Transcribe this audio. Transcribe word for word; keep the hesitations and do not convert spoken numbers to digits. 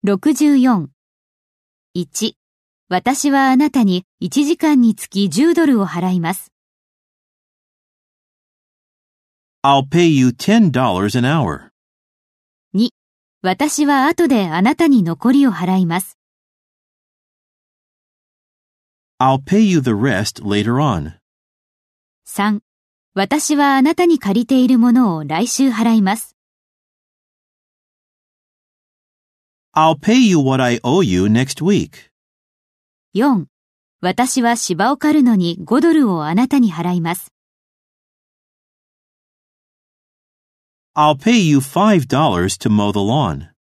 ろくじゅうよん。いち、私はあなたにいちじかんにつきじゅうドルを払います。 I'll pay you ten dollars an hour. に、私は後であなたに残りを払います。 I'll pay you the rest later on. さん、私はあなたに借りているものを来週払います。 I'll pay you what I owe you next week. よん、私は芝を刈るのにごドルをあなたに払います。 I'll pay you five dollars to mow the lawn.